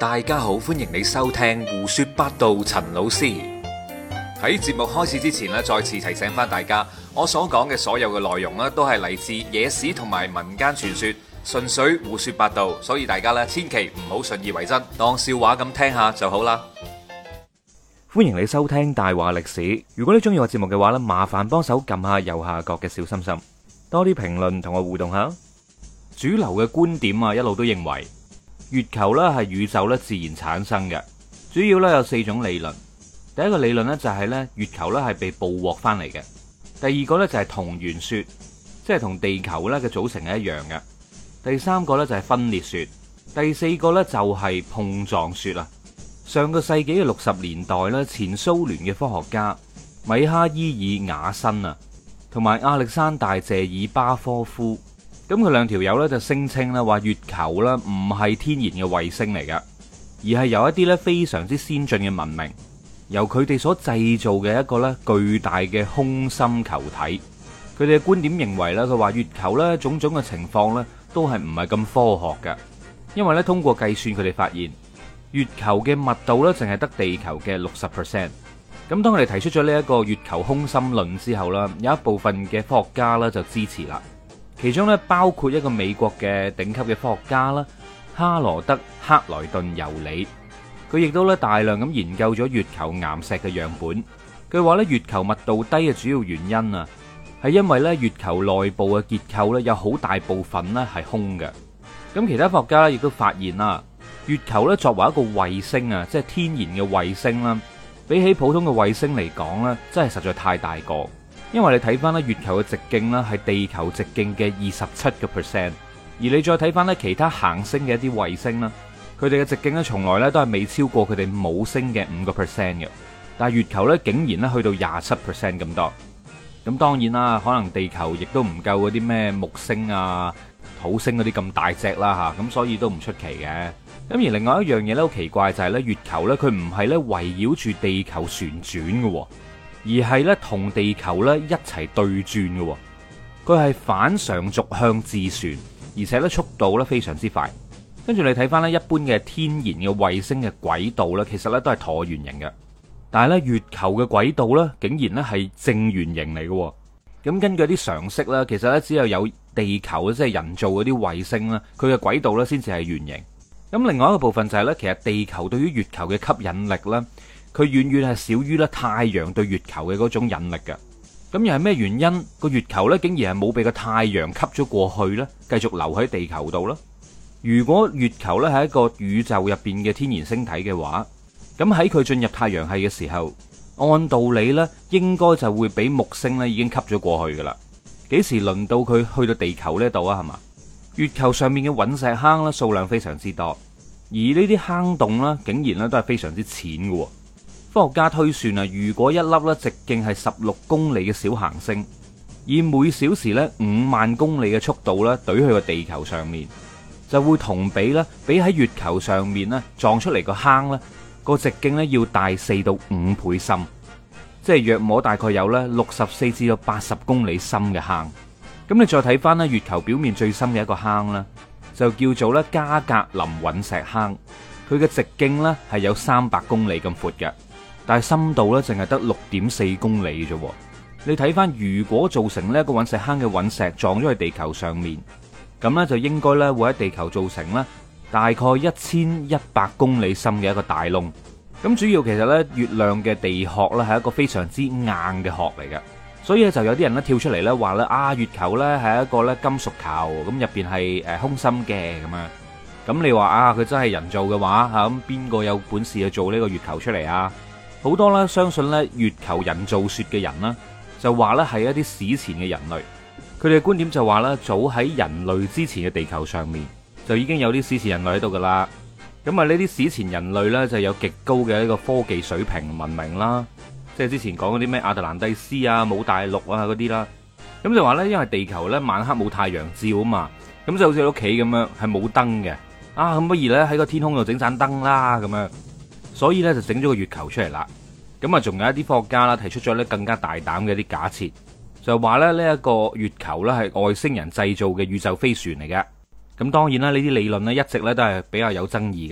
大家好，歡迎你收聽胡說八道。陳老師喺節目開始之前咧，再次提醒翻大家，我所講嘅所有嘅內容咧，都係嚟自野史同埋民間傳說，純粹胡說八道，所以大家咧千祈唔好信以為真，當笑話咁聽下就好啦。 歡迎你收聽大話歷史。如果你中意我節目嘅話咧，麻煩幫手撳下右下角嘅小心心，多啲評論同我互動下。主流嘅觀點啊，一路都認為月球咧係宇宙咧自然產生嘅，主要咧有4種理論。第一個理論咧就係咧月球咧係被捕獲翻嚟嘅。第二個咧就係同源說，即係同地球咧嘅組成係一樣嘅。第三個咧就係分裂說。第四個咧就係碰撞說啦。上個世紀嘅60年代咧，前蘇聯嘅科學家米哈伊爾瓦辛啊，同埋亞歷山大謝爾巴科夫。咁佢兩條友咧就聲稱咧話月球咧唔係天然嘅衛星嚟㗎，而係由一啲咧非常之先進嘅文明，由佢哋所製造嘅一個咧巨大嘅空心球體。佢哋嘅觀點認為咧，佢話月球咧種種嘅情況咧都係唔係咁科學㗎，因為咧通過計算佢哋發現月球嘅密度咧淨係得地球嘅60%。咁當佢哋提出咗呢一個月球空心論之後啦，有一部分嘅科學家咧就支持啦。其中咧包括一個美國嘅頂級嘅科學家啦，哈羅德克萊頓尤里，佢亦都咧大量咁研究咗月球岩石嘅樣本。佢話咧月球密度低嘅主要原因啊，係因為咧月球內部嘅結構咧有好大部分咧係空嘅。咁其他科學家咧亦都發現啦，月球咧作為一個衛星啊，即係天然嘅衛星啦，比起普通嘅衛星嚟講咧，真係實在太大個。因為你睇翻咧月球嘅直徑啦，係地球直徑嘅27%，而你再睇翻咧其他行星嘅一啲衛星啦，佢哋嘅直徑咧從來咧都係未超過佢哋母星嘅5%嘅，但係月球咧竟然咧去到27% 咁多。咁當然啦，可能地球亦都唔夠嗰啲咩木星啊、土星嗰啲咁大隻啦吓，咁所以都唔出奇嘅。咁而另外一樣嘢咧好奇怪就係咧月球咧佢唔係咧圍繞住地球旋轉嘅，而係咧同地球咧一齊對轉嘅，佢係反常軸向自旋，而且咧速度咧非常之快。跟住你睇翻咧一般嘅天然嘅衛星嘅軌道咧，其實咧都係橢圓形嘅，但係咧月球嘅軌道咧竟然咧係正圓形嚟嘅。咁根據啲常識咧，其實咧只有地球即係人造嗰啲衛星啦，佢嘅軌道咧先至係圓形。咁另外一個部分就係咧，其實地球對於月球嘅吸引力咧，佢遠遠係少於咧太陽對月球嘅嗰種引力嘅。咁又係咩原因個月球咧竟然係冇被個太陽吸咗過去咧，繼續留喺地球度咧？如果月球咧係一個宇宙入邊嘅天然星體嘅話，咁喺佢進入太陽系嘅時候，按道理咧應該就會俾木星咧已經吸咗過去噶啦。幾時輪到佢去到地球呢度啊？係嘛？月球上面嘅隕石坑咧數量非常之多，而呢啲坑洞咧竟然咧都係非常之淺嘅。科學家推算啊，如果一粒咧直徑係16公里嘅小行星，以每小時咧5萬公里嘅速度咧懟去個地球上面，就會同比喺月球上面咧撞出嚟個坑咧個直徑咧要大4到5倍深，即係約摸大概有咧64至到80公里深嘅坑。咁你再睇翻咧月球表面最深嘅一個坑咧，就叫做咧加格林隕石坑，佢嘅直徑咧係有300公里咁闊嘅。但係深度咧淨係得6.4公里啫。你睇翻，如果造成呢一個隕石坑嘅隕石撞咗去地球上面，咁咧就應該咧會喺地球造成咧大概1100公里深嘅一個大窿。咁主要其實咧月亮嘅地殼咧係一個非常之硬嘅殼嚟嘅，所以咧就有啲人咧跳出嚟咧話咧月球咧係一個咧金屬球，咁入邊係空心嘅咁樣。咁你話佢真係人造嘅話咁邊個有本事去做呢個月球出嚟啊？好多咧相信咧月球人造說嘅人啦，就話咧係一啲史前嘅人類。佢哋嘅觀點就話咧，早喺人類之前嘅地球上面就已經有啲史前人類喺度噶啦。咁啊呢啲史前人類咧就有極高嘅一個科技水平文明啦，即係之前講嗰啲咩亞特蘭蒂斯啊、姆大陸啊嗰啲啦。咁就話咧，因為地球咧晚黑冇太陽照啊嘛，咁就好似屋企咁樣係冇燈嘅咁不如咧喺個天空度整盞燈啦咁樣。所以咧就整咗個月球出嚟啦。咁啊，仲有一啲科學家啦提出咗咧更加大膽嘅一啲假設，就話咧呢一個月球咧係外星人製造嘅宇宙飛船嚟嘅。咁當然啦，呢啲理論咧一直咧都係比較有爭議嘅。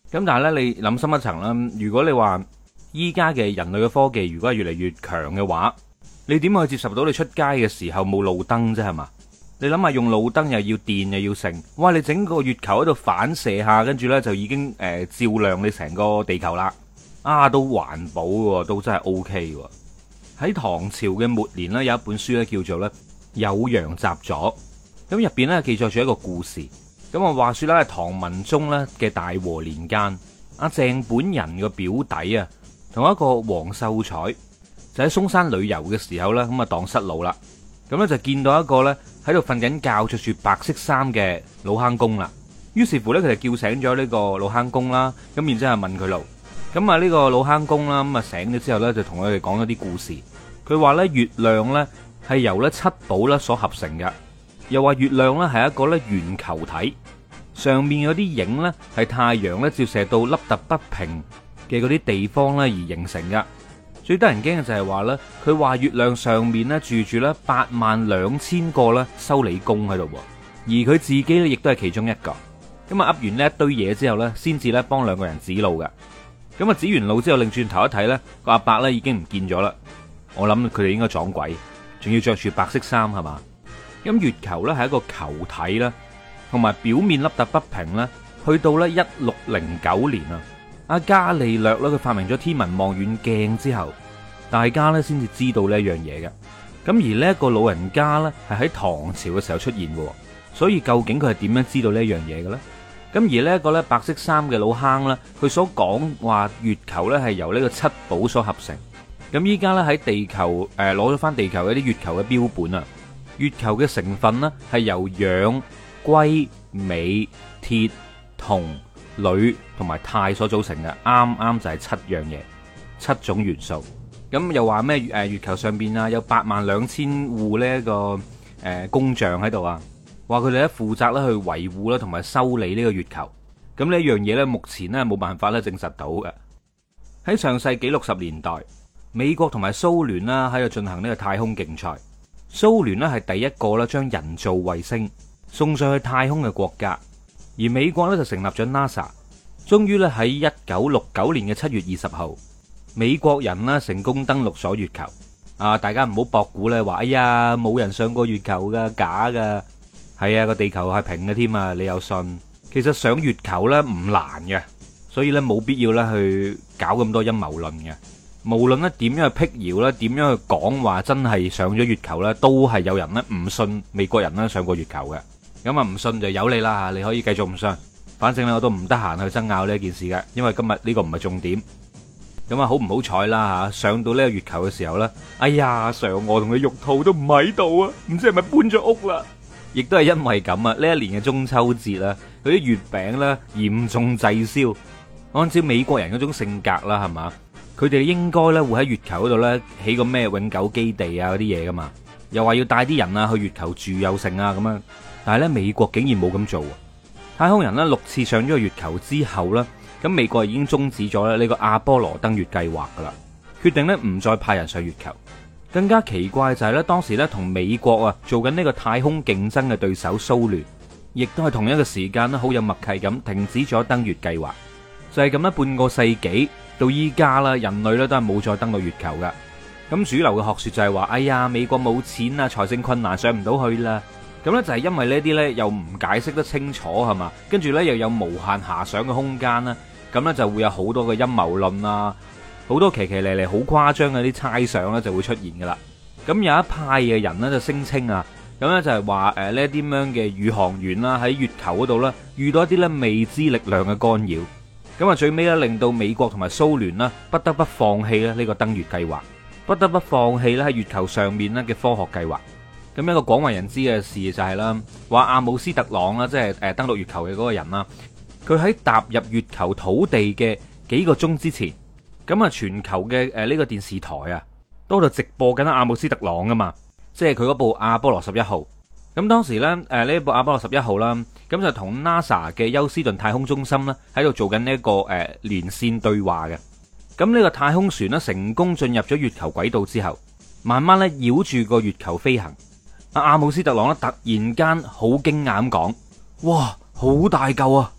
咁但係咧，你諗深一層啦，如果你話依家嘅人類嘅科技如果係越嚟越強嘅話，你點可以接受到你出街嘅時候冇路燈啫係嘛？你諗下用路燈又要電又要剩，哇！你整個月球喺度反射下，跟住呢就已經照亮你成個地球啦。都環保喎，都真係 OK 喎。喺唐朝嘅末年呢，有一本書咧叫做咧《酉陽雜俎》，咁入邊咧記載住一個故事。咁啊話說咧，唐文宗咧嘅大和年間，阿鄭本人嘅表弟啊，同一個黃秀才就喺嵩山旅遊嘅時候咧，咁啊蕩失路啦。咁咧就見到一個咧喺度瞓緊覺，着住白色衫嘅老坑公啦。於是乎咧，佢就叫醒咗呢個老坑公啦。咁然之後問佢路。咁啊呢個老坑公啦，咁啊醒咗之後咧，就同佢哋講咗啲故事。佢話咧月亮咧係由咧七寶咧所合成嘅，又話月亮咧係一個咧圓球體，上面嗰啲影咧係太陽咧照射到凹凸不平嘅嗰啲地方咧而形成嘅。最得人驚嘅就係話咧，佢話月亮上面咧住住咧82000個咧修理工喺度，而佢自己咧亦都係其中一個。咁啊噏完呢一堆嘢之後咧，先至咧幫兩個人指路嘅。咁啊指完路之後，擰轉頭一睇咧，個阿伯咧已經唔見咗啦。我諗佢哋應該撞鬼，仲要着住白色衫係嘛？咁月球咧係一個球體啦，同埋表面凹凸不平啦。去到咧1609年啊，阿伽利略咧佢發明咗天文望遠鏡之後，大家咧先至知道呢一樣嘢嘅。咁而呢一個老人家咧係喺唐朝嘅時候出現嘅，所以究竟佢係點樣知道呢一樣嘢嘅咧？咁而呢一個咧白色衫嘅老坑咧，佢所講話月球咧係由呢個七寶所合成。咁依家咧喺地球攞咗翻地球一啲月球嘅標本啊，月球嘅成分呢係由氧、硅、鎂、鐵、銅、鋁同埋鈦所組成嘅，啱啱就係7樣嘢，7種元素。咁又話咩月球上邊啊有82000戶呢一個工匠喺度啊，話佢哋咧負責咧去維護啦同埋修理呢個月球。咁呢一樣嘢咧目前咧冇辦法咧證實到嘅。喺上世紀60年代，美國同埋蘇聯啦喺度進行呢個太空競賽。蘇聯咧係第一個咧將人造衛星送上去太空嘅國家，而美國咧就成立咗 NASA。終於咧喺1969年嘅7月20號，美國人啦成功登陸咗月球。大家唔好博估咧話，哎呀冇人上過月球噶，假噶。係啊，個地球係平嘅添啊，你有信？其實上月球咧唔難嘅，所以咧冇必要咧去搞咁多陰謀論嘅。無論咧點樣去辟謠咧，點樣去講話真係上咗月球咧，都係有人咧唔信美國人咧上過月球嘅。咁啊唔信就由你啦，你可以繼續唔信，反正咧我都唔得閒去爭拗呢件事嘅，因為今日呢個唔係重點。咁啊好唔好彩啦吓，上到呢個月球嘅時候咧，哎呀嫦娥同佢玉兔都唔喺度啊，唔知係咪搬咗屋啦？亦都係因為咁啊，呢一年嘅中秋節啦，佢啲月餅咧嚴重滯銷。按照美國人嗰種性格啦，係嘛？佢哋應該咧會喺月球嗰度咧起個咩永久基地啊嗰啲嘢噶嘛，又話要帶啲人啊去月球住又成啊咁樣。但係咧美國竟然冇咁做。太空人咧6次上咗個月球之後咧，咁美國已經終止咗咧呢個阿波羅登月計劃噶啦，決定咧唔再派人上月球。更加奇怪就係咧當時咧同美國啊做緊呢個太空競爭嘅對手蘇聯，亦都係同一個時間咧好有默契咁停止咗登月計劃。就係咁咧半個世紀到依家啦，人類咧都係冇再登到月球噶。咁主流嘅學說就係話，哎呀美國冇錢啊，財政困難上唔到去啦。咁咧就係因為呢啲咧又唔解釋得清楚係嘛，跟住咧又有無限遐想嘅空間啦，咁咧就會有好多嘅陰謀論啊，好多奇奇咧咧好誇張嘅啲猜想咧就會出現噶啦。咁有一派嘅人咧就聲稱啊，咁咧就係話呢啲咁樣嘅宇航員啦喺月球嗰度咧遇到一啲咧未知力量嘅干擾，咁啊最尾咧令到美國同埋蘇聯啦不得不放棄咧呢個登月計劃，不得不放棄咧喺月球上面咧嘅科學計劃。咁一個廣為人知嘅事就係啦，話阿姆斯特朗啦，即係登陸月球嘅嗰個人啦，佢喺踏入月球土地嘅幾個鐘之前，咁啊全球嘅呢個電視台啊，都喺度直播緊阿姆斯特朗啊嘛，即係佢嗰部阿波羅11號。咁當時咧呢部阿波羅11號啦，咁就同 NASA 嘅休斯頓太空中心咧喺度做緊呢一個連線對話嘅。咁呢個太空船咧成功進入咗月球軌道之後，慢慢咧繞住個月球飛行。阿姆斯特朗咧突然間好驚訝咁講：哇，好大嚿啊！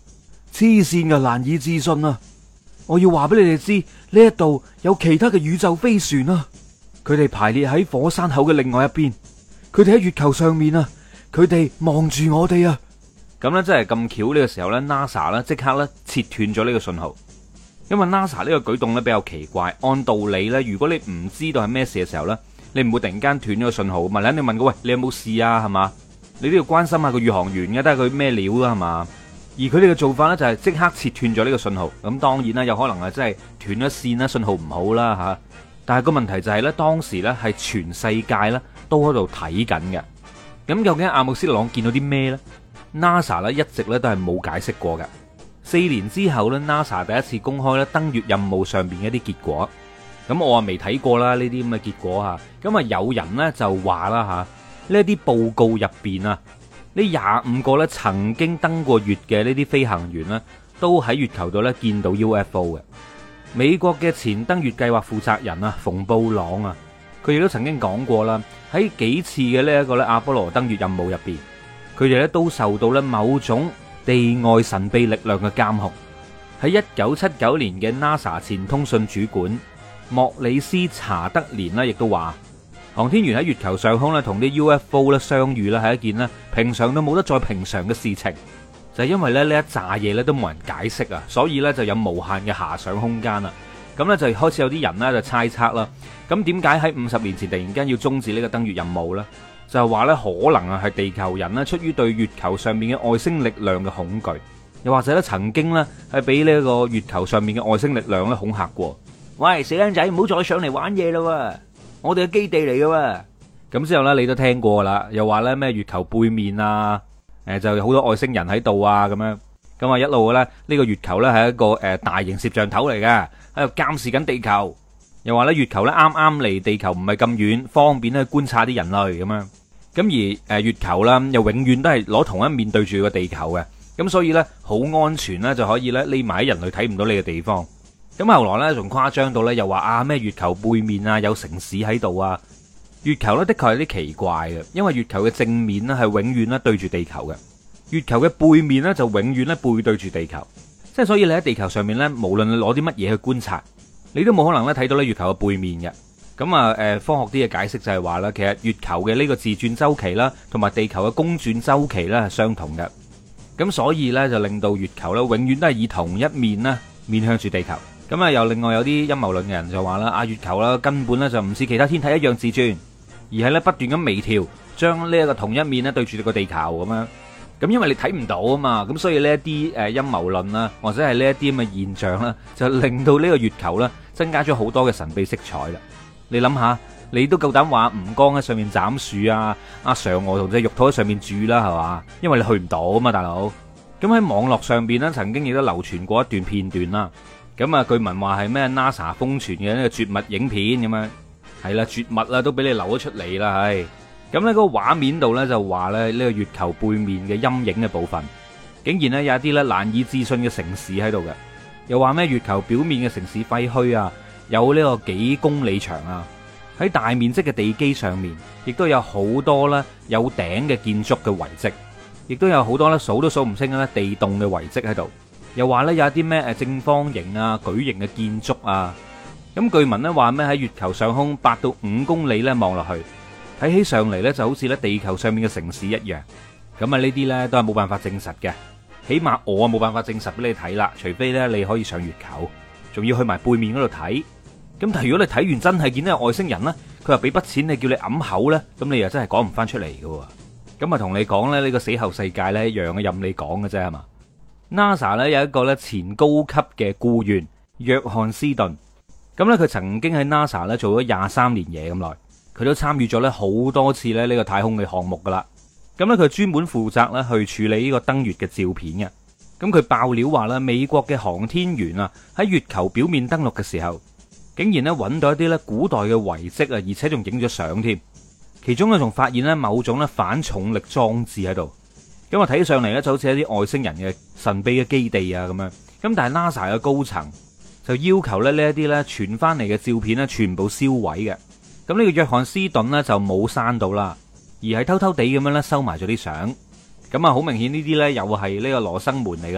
黐線嘅，難以置信啊！我要話俾你哋知，呢一度有其他嘅宇宙飛船啊！佢哋排列喺火山口嘅另外一邊，佢哋喺月球上面啊！佢哋望住我哋啊！咁咧真係咁巧呢個時候咧 ，NASA 咧即刻咧切斷咗呢個信號。因為 NASA 呢個舉動咧比較奇怪，按道理咧，如果你唔知道係咩事嘅時候咧，你唔會突然間斷咗個信號，咪你問佢喂，你有冇事啊？係嘛？你都要關心下個宇航員嘅，睇下佢咩料啦，係嘛？而佢哋嘅做法咧就係即刻切斷咗呢個信號。咁當然啦，有可能係真係斷咗線啦，信號唔好啦吓。但係個問題就係咧，當時咧係全世界咧都喺度睇緊嘅。咁究竟阿姆斯特朗見到啲咩呢？ NASA 咧一直咧都係冇解釋過嘅。4年之後咧 ，NASA 第一次公開咧登月任務上邊嘅一啲結果。咁我啊未睇過啦呢啲咁嘅結果吓。咁啊有人咧就話啦吓，呢啲報告入邊啊，呢25個咧曾經登過月嘅呢啲飛行員咧，都喺月球度咧見到 UFO 嘅。美國嘅前登月計劃負責人啊，馮布朗啊，佢亦都曾經講過啦，喺幾次嘅呢一個咧阿波羅登月任務入邊，佢哋咧都受到咧某種地外神秘力量嘅監控。喺1979年嘅 NASA 前通訊主管莫里斯查德連呢亦都話，航天員喺月球上空咧同啲 UFO 咧相遇咧係一件咧平常都冇得再平常嘅事情，就係因為咧呢一紮嘢咧都冇人解釋啊，所以咧就有無限嘅遐想空間啦。咁咧就開始有啲人咧就猜測啦，咁點解喺50年前突然間要終止呢個登月任務呢？就係話咧可能啊係地球人咧出於對月球上面嘅外星力量嘅恐懼，又或者咧曾經咧係俾呢個月球上面嘅外星力量咧恐嚇過。喂，死僆仔，唔好再上嚟玩嘢啦！我哋嘅基地嚟噶。咁之後咧，你都聽過啦，又話咧咩月球背面啊，就有好多外星人喺度啊，咁樣。咁啊一路咧呢個月球咧係一個大型攝像頭嚟嘅，喺度監視緊地球。又話咧月球咧啱啱離地球唔係咁遠，方便咧觀察啲人類咁樣。咁而月球啦，又永遠都係攞同一面對住個地球嘅，咁所以咧好安全咧，就可以咧匿埋喺人類睇唔到你嘅地方。咁後來咧仲誇張到咧，又話啊咩月球背面啊有城市喺度啊。月球咧的確係啲奇怪嘅，因為月球嘅正面咧係永遠咧對住地球嘅，月球嘅背面咧就永遠咧背對住地球。即係所以你喺地球上面咧，無論你攞啲乜嘢去觀察，你都冇可能咧睇到咧月球嘅背面嘅。咁啊，科學啲嘅解釋就係話啦，其實月球嘅呢個自轉周期啦，同埋地球嘅公轉周期咧係相同嘅。咁所以咧就令到月球咧永遠都係以同一面咧面向住地球。咁啊，又另外有啲陰謀論嘅人就話啦，啊月球啦根本咧就唔似其他天體一樣自轉，而係咧不斷咁微調，將呢一個同一面咧對住個地球咁樣。咁因為你睇唔到啊嘛，咁所以呢一啲陰謀論啦，或者係呢一啲咁嘅現象啦，就令到呢個月球咧增加咗好多嘅神秘色彩啦。你諗下，你都夠膽話吳剛喺上面斬樹啊，阿嫦娥同隻玉兔喺上面住啦，係嘛？因為你去唔到啊嘛，大佬。咁喺網絡上邊咧，曾經亦都流傳過一段片段啦。咁啊，據聞話係咩 NASA 瘋傳嘅呢個絕密影片咁樣，係啦，絕密啦，都俾你流咗出嚟啦，係。咁呢嗰個畫面度咧就話咧呢個月球背面嘅陰影嘅部分，竟然咧有一啲咧難以置信嘅城市喺度嘅，又話咩月球表面嘅城市廢墟啊，有呢個幾公里長啊，喺大面積嘅地基上面，亦都有好多咧有頂嘅建築嘅遺跡，亦都有好多咧數都數唔清嘅咧地洞嘅遺跡喺度。又話咧有一啲咩正方形啊、矩形嘅建築啊。咁據聞咧話咩喺月球上空8到5公里咧望落去，睇起上嚟咧就好似咧地球上面嘅城市一樣。咁啊呢啲咧都係冇辦法證實嘅，起碼我啊冇辦法證實俾你睇啦，除非咧你可以上月球，仲要去埋背面嗰度睇。咁但係如果你睇完真係見到有外星人咧，佢又俾筆錢你叫你揞口咧，咁你又真係講唔翻出嚟嘅。咁啊同你講咧呢個死後世界咧一樣嘅，任你講嘅啫係嘛。NASA 咧有一個咧前高級嘅僱員約翰斯頓，咁咧佢曾經喺 NASA 咧做咗23年嘢咁耐，佢都參與咗咧好多次咧呢個太空嘅項目噶啦。咁咧佢專門負責咧去處理呢個登月嘅照片嘅。咁佢爆料話咧美國嘅航天員啊喺月球表面登陸嘅時候，竟然咧揾到一啲咧古代嘅遺跡啊，而且仲影咗相添。其中咧仲發現咧某種咧反重力裝置喺度。咁我睇起上嚟咧就好似一啲外星人嘅神秘嘅基地啊咁樣。咁但係 NASA 嘅高層就要求咧呢一啲咧傳翻嚟嘅照片咧全部銷毀嘅。咁呢個約翰斯頓呢就冇刪到啦，而係偷偷地咁樣咧收埋咗啲相。咁啊好明顯呢啲咧又係呢個羅生門嚟噶啦。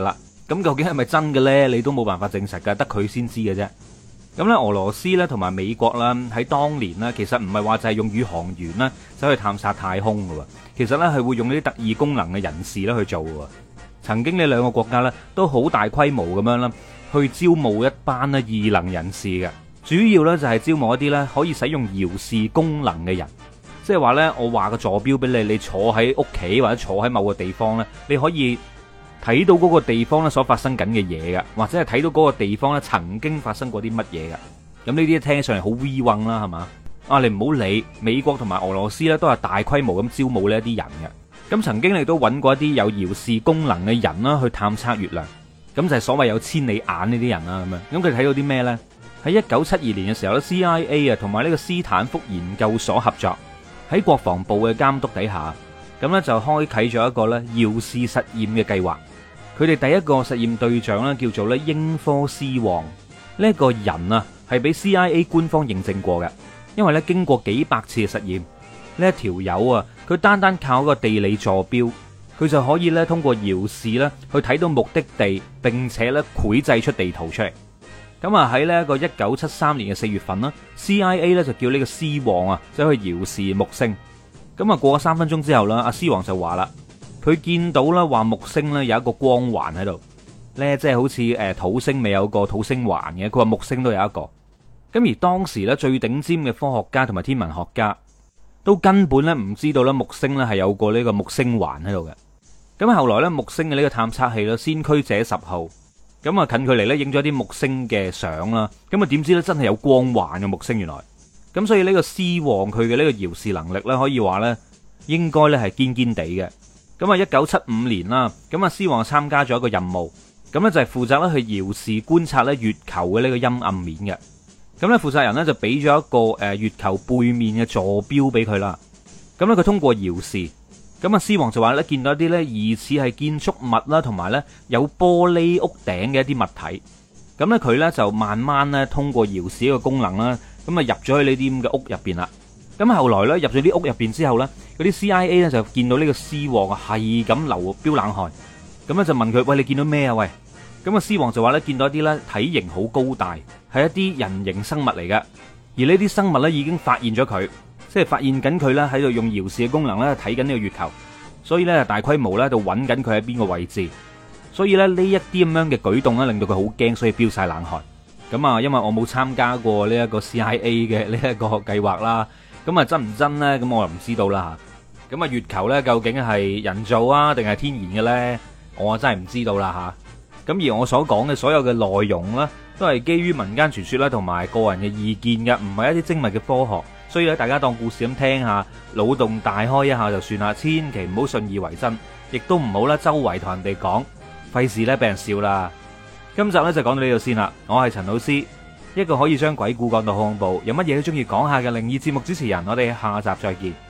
咁究竟係咪真嘅呢？你都冇辦法證實㗎，得佢先知嘅啫。咁咧，俄羅斯咧同埋美國啦，喺當年呢，其實唔係話就係用宇航員啦走去探索太空㗎喎，其實咧係會用呢啲特異功能嘅人士咧去做㗎。曾經呢兩個國家咧都好大規模咁樣啦，去招募一班咧異能人士嘅，主要咧就係招募一啲咧可以使用遙視功能嘅人，即係話咧我話個坐標俾你，你坐喺屋企或者坐喺某個地方咧，你可以睇到嗰個地方咧所發生緊嘅嘢㗎，或者係睇到嗰個地方咧曾經發生過啲乜嘢㗎。咁呢啲聽上嚟好 we 運啦，係嘛？啊，你唔好理，美國同埋俄羅斯咧都係大規模咁招募呢一啲人嘅。咁曾經你都揾過一啲有遙視功能嘅人啦，去探測月亮。咁就係所謂有千里眼呢啲人啦，咁樣。咁佢睇到啲咩呢？喺1972年嘅時候咧 ，CIA 啊同埋呢個斯坦福研究所合作，喺國防部嘅監督底下，咁呢就開啟咗一個咧遙視實驗嘅計劃。佢哋第一個實驗對象咧叫做咧英科斯旺，呢一個人啊係俾 CIA 官方認證過嘅，因為咧經過幾百次嘅實驗，呢一條友啊佢單單靠一個地理坐標，佢就可以咧通過遙視咧去睇到目的地，並且咧繪製出地圖出嚟。咁啊喺呢一個1973年嘅4月份啦 ，CIA 咧就叫呢個斯旺啊走去遙視木星。咁啊過咗3分鐘之後啦，阿斯旺就話啦。佢見到啦，話木星咧有一個光環喺度，呢即係好似土星未有個土星環嘅，佢話木星都有一個。咁而當時咧最頂尖嘅科學家同埋天文學家都根本咧唔知道咧木星咧係有個呢個木星環喺度嘅。咁後來咧木星嘅呢個探測器咧先驅者10號，咁啊近距離咧影咗啲木星嘅相啦，咁啊點知咧真係有光環嘅木星原來。咁所以呢個斯旺佢嘅呢個遙視能力咧可以話咧應該咧係堅堅地嘅。咁啊，1975年啦，咁啊，斯旺參加咗一個任務，咁咧就係負責咧去遙視觀察咧月球嘅呢個陰暗面嘅。咁咧負責人咧就俾咗一個月球背面嘅坐標俾佢啦。咁咧佢通過遙視，咁啊，斯旺就話咧見到一啲咧疑似係建築物啦，同埋咧有玻璃屋頂嘅一啲物體。咁咧佢咧就慢慢咧通過遙視嘅功能啦，咁啊入咗去呢啲咁嘅屋入邊啦。咁後來咧入咗啲屋入邊之後咧，嗰啲 CIA 咧就見到呢個斯旺啊係咁流飆冷汗，咁咧就問佢：喂，你見到咩啊？喂，咁啊斯旺就話咧見到一啲咧體型好高大，係一啲人形生物嚟嘅，而呢啲生物咧已經發現咗佢，即係發現緊佢咧喺度用遙視嘅功能咧睇緊呢個月球，所以咧大規模咧就揾緊佢喺邊個位置，所以咧呢一啲咁樣嘅舉動咧令到佢好驚，所以飆晒冷汗。咁啊，因為我冇參加過呢一個 CIA 嘅呢一個計劃啦。咁啊真唔真呢？咁我就唔知道啦吓。咁啊月球呢，究竟係人造啊定係天然嘅呢？我真係唔知道啦吓。咁而我所講嘅所有嘅內容呢，都係基於民間傳說啦，同埋個人嘅意見嘅，唔係一啲精密嘅科學。所以咧，大家當故事咁聽下，腦洞大開一下就算啦，千祈唔好信以為真，亦都唔好啦周圍同人哋講，費事呢俾人笑啦。今集呢，就講到呢度先啦。我係陳老師。一個可以將鬼故講到恐怖，有乜嘢都中意講下嘅靈異節目主持人，我哋下集再見。